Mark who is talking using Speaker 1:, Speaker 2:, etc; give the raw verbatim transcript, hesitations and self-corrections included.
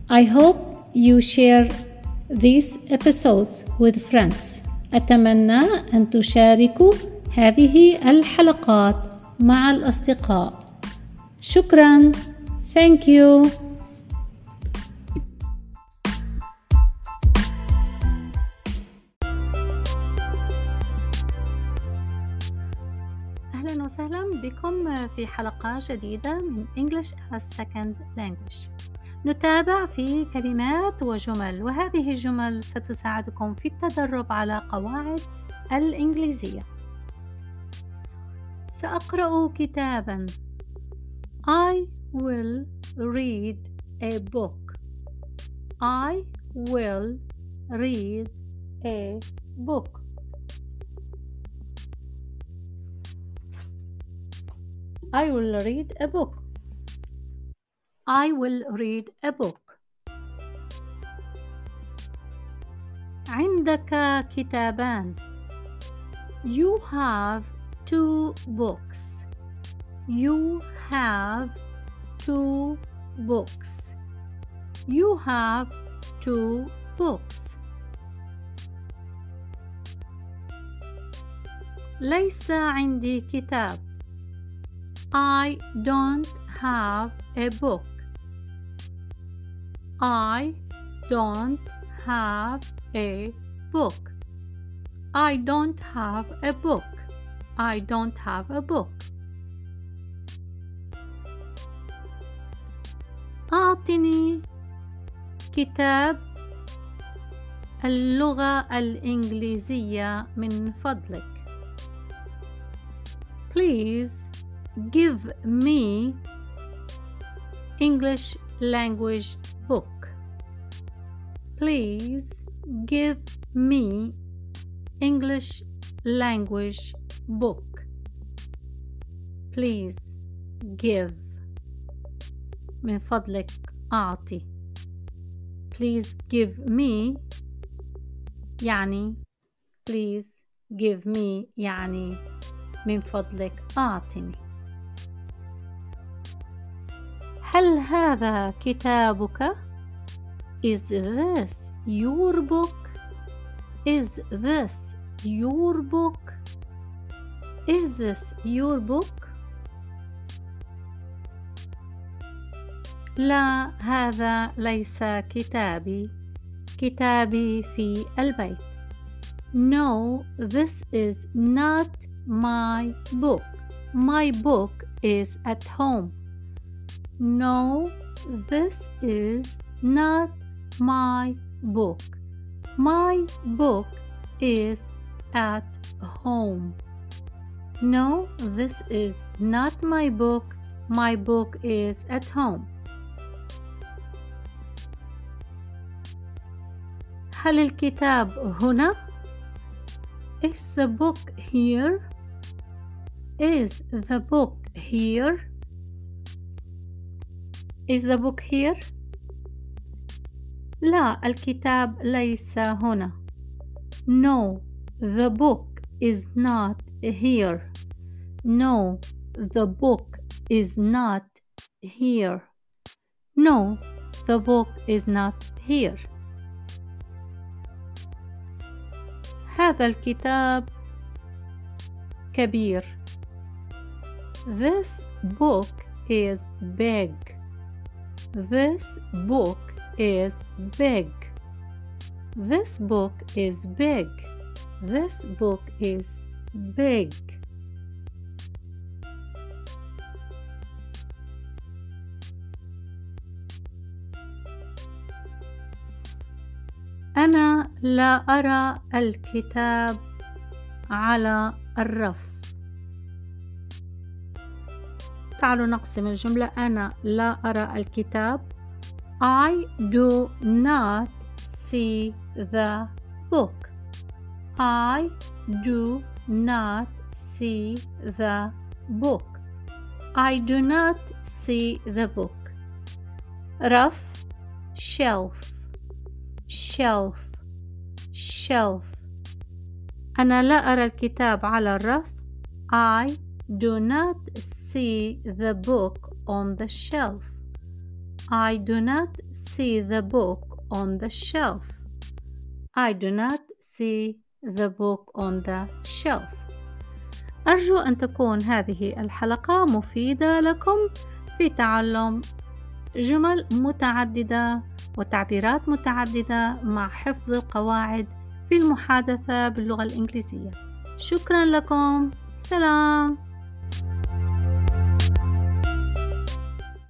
Speaker 1: I hope you share these episodes with friends. أتمنى أن تشاركوا هذه الحلقات مع الأصدقاء. شكراً. Thank you. أهلاً وسهلاً بكم في حلقة جديدة من English as Second Language. نتابع في كلمات وجمل، وهذه الجمل ستساعدكم في التدرب على قواعد الإنجليزية. سأقرأ كتاباً. I will read a book. I will read a book. I will read a book. I will read a book. عندك كتابان. You have two books. You have two books. You have two books. ليس عندي كتاب. I don't have a book. I don't have a book. I don't have a book. I don't have a book. أعطني كتاب اللغة الإنجليزية من فضلك. Please give me English language book. Please give me English language book. Please give. من فضلك أعطي. Please give me يعني please give me يعني من فضلك أعطني. هل هذا كتابك؟ Is this your book? Is this your book? Is this your book? لا، هذا ليس كتابي. كتابي في البيت. No, this is not my book. My book is at home. No, this is not my book. My book is at home. No, this is not my book. My book is at home. هل الكتاب هنا؟ Is the book here? Is the book here? Is the book here? لا، الكتاب ليس هنا. No, the book is not here. No, the book is not here. No, the book is not here. هذا الكتاب كبير. This book is big. This book is big. This book is big. This book is big. أنا لا أرى الكتاب على الرف. تعالوا نقسم الجملة. أنا لا أرى الكتاب. I do not see the book. I do not see the book. I do not see the book. رف shelf shelf shelf. أنا لا أرى الكتاب على الرف. I do not see the book on the shelf. I do not see the book on the shelf. I do not see the book on the shelf. أرجو أن تكون هذه الحلقة مفيدة لكم في تعلم جمل متعددة وتعبيرات متعددة مع حفظ القواعد في المحادثة باللغة الإنجليزية. شكرا لكم. سلام.